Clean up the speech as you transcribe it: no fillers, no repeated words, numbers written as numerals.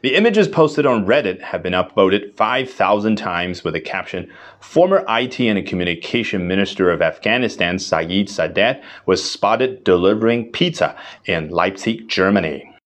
The images posted on Reddit have been upvoted 5,000 times with the caption, "Former IT and Communication Minister of Afghanistan Saeed Sadat was spotted delivering pizza in Leipzig, Germany."